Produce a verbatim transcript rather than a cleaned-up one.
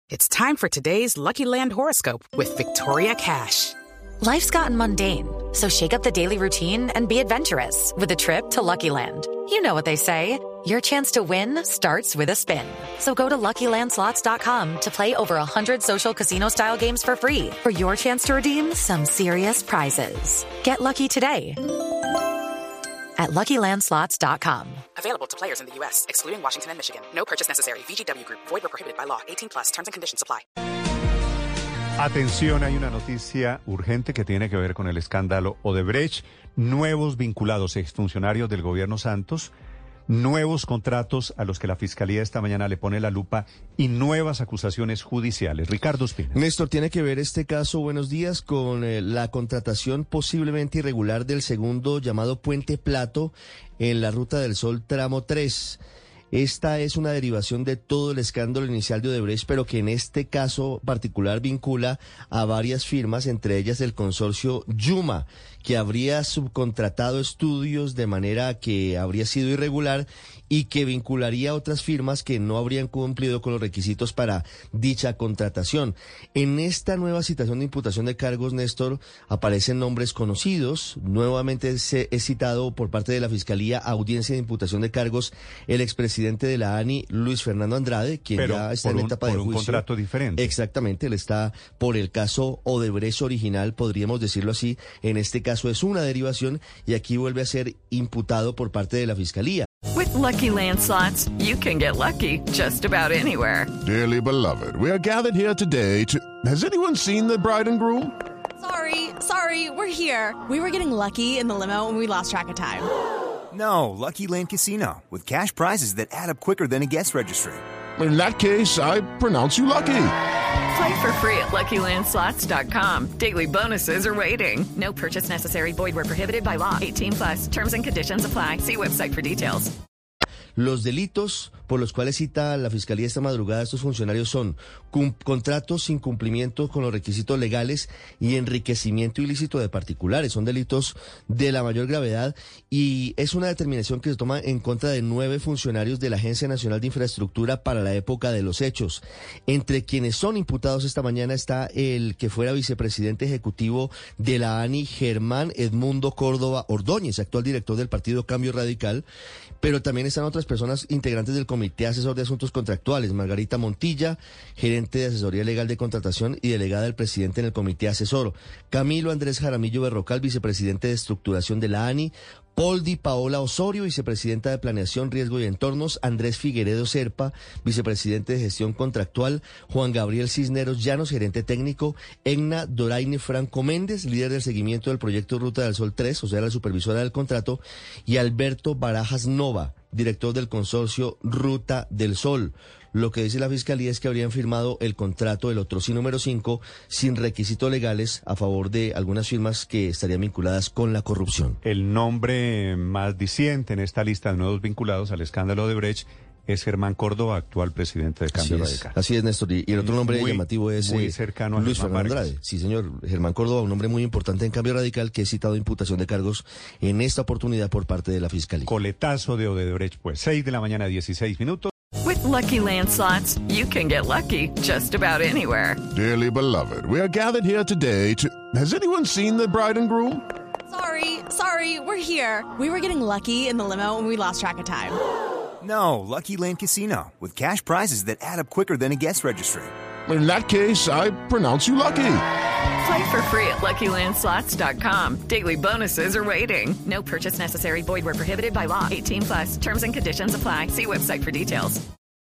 It's time for today's Lucky Land horoscope with Victoria Cash. Life's gotten mundane, so shake up the daily routine and be adventurous with a trip to Lucky Land. You know what they say, your chance to win starts with a spin. So go to Lucky Land Slots dot com to play over one hundred social casino-style games for free for your chance to redeem some serious prizes. Get lucky today at Lucky Land Slots dot com. Available to players in the U S, excluding Washington and Michigan. No purchase necessary. V G W Group. Void or prohibited by law. eighteen plus. Terms and conditions apply. Atención, hay una noticia urgente que tiene que ver con el escándalo Odebrecht. Nuevos vinculados, exfuncionarios del gobierno Santos, nuevos contratos a los que la Fiscalía esta mañana le pone la lupa y nuevas acusaciones judiciales. Ricardo Espina. Néstor, tiene que ver este caso, buenos días, con eh, la contratación posiblemente irregular del segundo llamado Puente Plato en la Ruta del Sol tramo tres. Esta es una derivación de todo el escándalo inicial de Odebrecht, pero que en este caso particular vincula a varias firmas, entre ellas el consorcio Yuma, que habría subcontratado estudios de manera que habría sido irregular y que vincularía a otras firmas que no habrían cumplido con los requisitos para dicha contratación. En esta nueva citación de imputación de cargos, Néstor, aparecen nombres conocidos. Nuevamente se es citado por parte de la Fiscalía a audiencia de imputación de cargos el expresidente de la ANI, Luis Fernando Andrade, quien Pero ya está por en un, etapa por de un juicio. contrato diferente. Exactamente, él está por el caso Odebrecht original, podríamos decirlo así. En este caso es una derivación y aquí vuelve a ser imputado por parte de la Fiscalía. With Lucky Land Slots, you can get lucky just about anywhere. Dearly beloved, we are gathered here today to... Has anyone seen the bride and groom? Sorry, sorry, we're here. We were getting lucky in the limo and we lost track of time. No, Lucky Land Casino, with cash prizes that add up quicker than a guest registry. In that case, I pronounce you lucky. Play for free at Lucky Land Slots dot com. Daily bonuses are waiting. No purchase necessary. Void where prohibited by law. eighteen plus. Terms and conditions apply. See website for details. Los delitos por los cuales cita la Fiscalía esta madrugada a estos funcionarios son contratos sin cumplimiento con los requisitos legales y enriquecimiento ilícito de particulares. Son delitos de la mayor gravedad y es una determinación que se toma en contra de nueve funcionarios de la Agencia Nacional de Infraestructura para la época de los hechos. Entre quienes son imputados esta mañana está el que fuera vicepresidente ejecutivo de la ANI, Germán Edmundo Córdoba Ordóñez, actual director del Partido Cambio Radical, pero también están otras personas integrantes del Comité Asesor de Asuntos Contractuales, Margarita Montilla, gerente de asesoría legal de contratación y delegada del presidente en el Comité Asesor, Camilo Andrés Jaramillo Berrocal, vicepresidente de estructuración de la ANI, Poldi Paola Osorio, vicepresidenta de Planeación, Riesgo y Entornos, Andrés Figueredo Serpa, vicepresidente de Gestión Contractual, Juan Gabriel Cisneros Llanos, gerente técnico, Egna Doraine Franco Méndez, líder del seguimiento del proyecto Ruta del Sol tres, o sea, la supervisora del contrato, y Alberto Barajas Nova, director del consorcio Ruta del Sol. Lo que dice la Fiscalía es que habrían firmado el contrato del otro sí número cinco sin requisitos legales a favor de algunas firmas que estarían vinculadas con la corrupción. El nombre más diciente en esta lista de nuevos vinculados al escándalo de Odebrecht es Germán Córdoba, actual presidente de Cambio así Radical. Es, así es, Néstor. Y el otro nombre muy, llamativo es muy eh, cercano a Luis Germán Fernando Márquez. Andrade. Sí, señor. Germán Córdoba, un nombre muy importante en Cambio Radical que es citado de imputación de cargos en esta oportunidad por parte de la Fiscalía. Coletazo de Odebrecht, pues, seis de la mañana, dieciséis minutos. With Lucky Land Slots, you can get lucky just about anywhere. Dearly beloved, we are gathered here today to... Has anyone seen the bride and groom? Sorry, sorry, we're here. We were getting lucky in the limo and we lost track of time. No, Lucky Land Casino, with cash prizes that add up quicker than a guest registry. In that case, I pronounce you lucky. Play for free at Lucky Land Slots dot com. Daily bonuses are waiting. No purchase necessary. Void where prohibited by law. eighteen plus. Terms and conditions apply. See website for details.